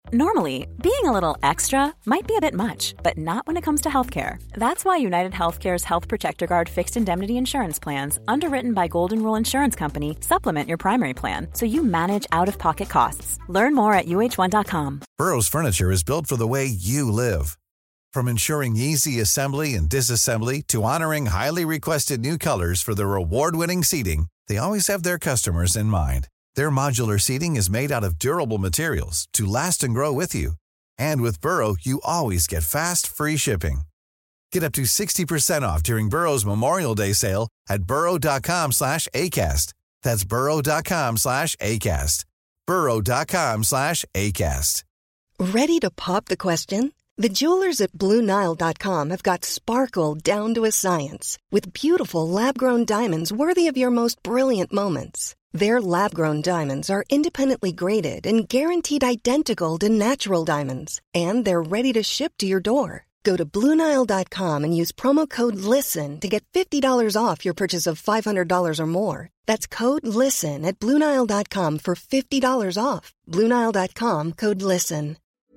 Normally, being a little extra might be a bit much, but not when it comes to healthcare. That's why United Healthcare's Health Protector Guard fixed indemnity insurance plans, underwritten by Golden Rule Insurance Company, supplement your primary plan so you manage out-of-pocket costs. Learn more at uh1.com. Burrow's furniture is built for the way you live. From ensuring easy assembly and disassembly to honoring highly requested new colors for their award-winning seating, they always have their customers in mind. Their modular seating is made out of durable materials to last and grow with you. And with Burrow, you always get fast, free shipping. Get up to 60% off during Burrow's Memorial Day sale at burrow.com/ACAST. That's burrow.com/ACAST. burrow.com/ACAST. Ready to pop the question? The jewelers at BlueNile.com have got sparkle down to a science with beautiful lab-grown diamonds worthy of your most brilliant moments. Their lab-grown diamonds are independently graded and guaranteed identical to natural diamonds, and they're ready to ship to your door. Go to BlueNile.com and use promo code LISTEN to get $50 off your purchase of $500 or more. That's code LISTEN at BlueNile.com for $50 off. BlueNile.com, code LISTEN.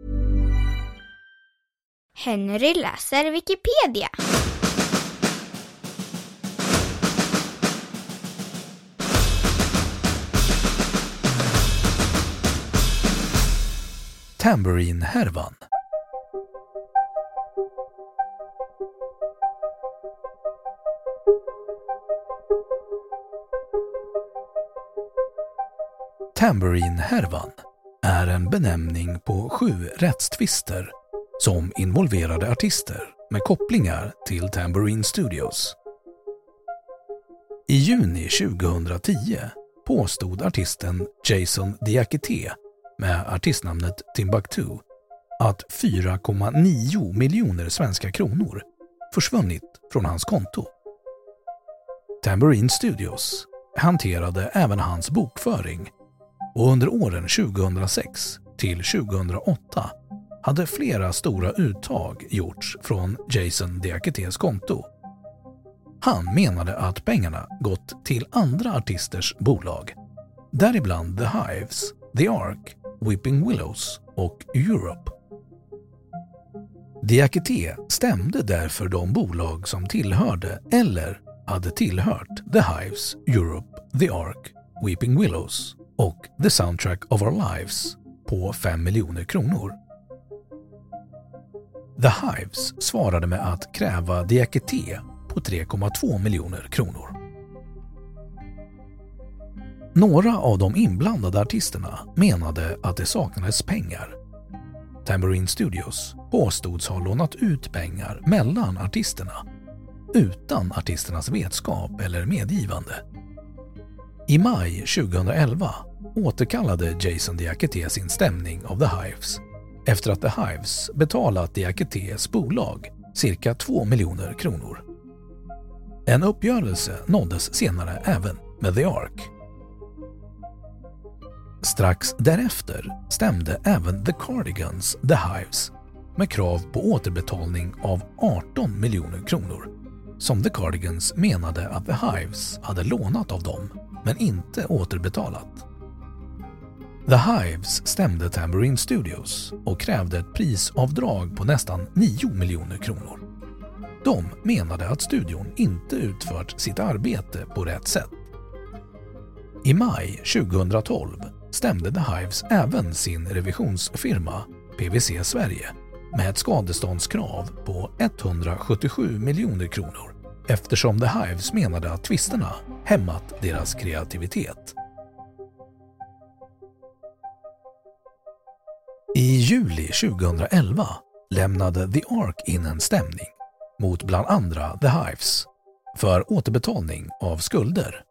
Henry läser Wikipedia. Tambourine-härvan. Tambourine-härvan är en benämning på 7 rättstvister som involverade artister med kopplingar till Tambourine Studios. I juni 2010 påstod artisten Jason Diakité med artistnamnet Timbuktu att 4,9 miljoner svenska kronor försvunnit från hans konto. Tambourine Studios hanterade även hans bokföring och under åren 2006 till 2008 hade flera stora uttag gjorts från Jason Diakités konto. Han menade att pengarna gått till andra artisters bolag, däribland The Hives, The Ark, Weeping Willows och Europe. Diakité stämde därför de bolag som tillhörde eller hade tillhört The Hives, Europe, The Ark, Weeping Willows och The Soundtrack of Our Lives på 5 miljoner kronor. The Hives svarade med att kräva Diakité på 3,2 miljoner kronor. Några av de inblandade artisterna menade att det saknades pengar. Tambourine Studios påstods ha lånat ut pengar mellan artisterna utan artisternas vetskap eller medgivande. I maj 2011 återkallade Jason Diakité sin stämning av The Hives efter att The Hives betalat Diakités bolag cirka 2 miljoner kronor. En uppgörelse nåddes senare även med The Ark. Strax därefter stämde även The Cardigans The Hives med krav på återbetalning av 18 miljoner kronor som The Cardigans menade att The Hives hade lånat av dem men inte återbetalat. The Hives stämde Tambourine Studios och krävde ett prisavdrag på nästan 9 miljoner kronor. De menade att studion inte utfört sitt arbete på rätt sätt. I maj 2012 stämde The Hives även sin revisionsfirma PwC Sverige med ett skadeståndskrav på 177 miljoner kronor eftersom The Hives menade att tvisterna hämmat deras kreativitet. I juli 2011 lämnade The Ark in en stämning mot bland andra The Hives för återbetalning av skulder.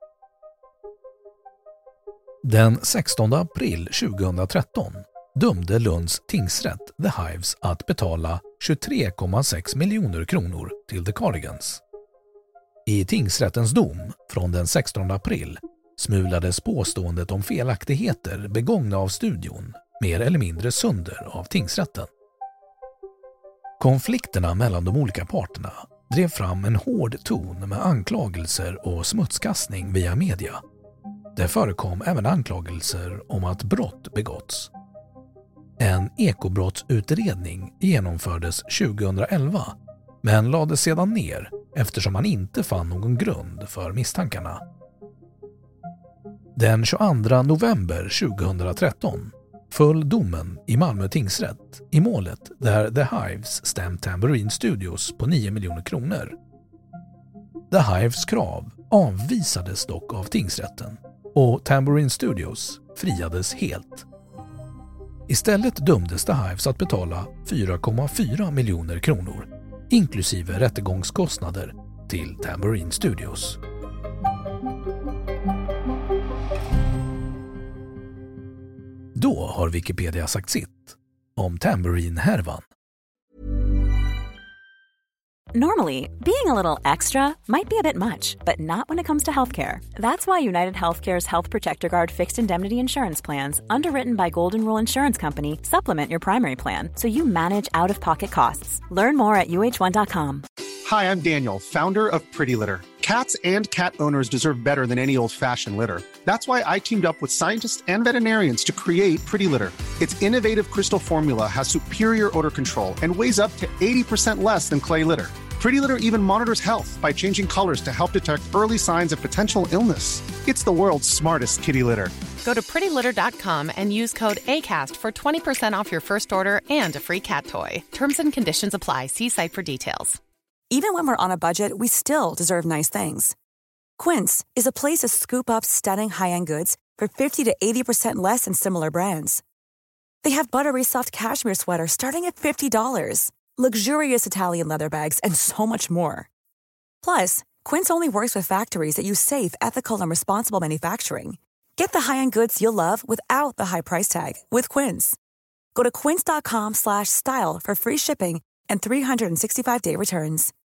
Den 16 april 2013 dömde Lunds tingsrätt The Hives att betala 23,6 miljoner kronor till The Cardigans. I tingsrättens dom från den 16 april smulades påståendet om felaktigheter begångna av studion mer eller mindre sönder av tingsrätten. Konflikterna mellan de olika parterna drev fram en hård ton med anklagelser och smutskastning via media. Det förekom även anklagelser om att brott begåtts. En ekobrottsutredning genomfördes 2011 men lades sedan ner eftersom man inte fann någon grund för misstankarna. Den 22 november 2013 föll domen i Malmö tingsrätt i målet där The Hives stämt Tambourine Studios på 9 miljoner kronor. The Hives krav avvisades dock av tingsrätten och Tambourine Studios friades helt. Istället dömdes The Hives att betala 4,4 miljoner kronor inklusive rättegångskostnader till Tambourine Studios. Då har Wikipedia sagt sitt om Tambourine-härvan. Normally, being a little extra might be a bit much, but not when it comes to healthcare. That's why United Healthcare's Health Protector Guard fixed indemnity insurance plans, underwritten by Golden Rule Insurance Company, supplement your primary plan so you manage out-of-pocket costs. Learn more at uh1.com. Hi, I'm Daniel, founder of Pretty Litter. Cats and cat owners deserve better than any old-fashioned litter. That's why I teamed up with scientists and veterinarians to create Pretty Litter. Its innovative crystal formula has superior odor control and weighs up to 80% less than clay litter. Pretty Litter even monitors health by changing colors to help detect early signs of potential illness. It's the world's smartest kitty litter. Go to prettylitter.com and use code ACAST for 20% off your first order and a free cat toy. Terms and conditions apply. See site for details. Even when we're on a budget, we still deserve nice things. Quince is a place to scoop up stunning high-end goods for 50 to 80% less than similar brands. They have buttery soft cashmere sweaters starting at $50, luxurious Italian leather bags, and so much more. Plus, Quince only works with factories that use safe, ethical, and responsible manufacturing. Get the high-end goods you'll love without the high price tag with Quince. Go to quince.com/style for free shipping and 365-day returns.